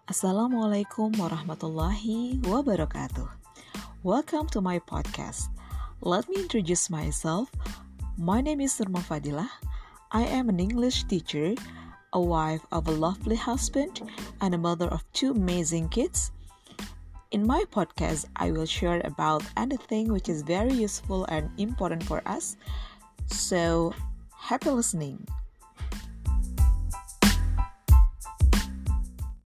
Assalamualaikum warahmatullahi wabarakatuh. Welcome to my podcast. Let me introduce myself. My name is Nurma Fadilah. I am an English teacher, a wife of a lovely husband, and a mother of two amazing kids. In my podcast, I will share about anything which is very useful and important for us. So, happy listening.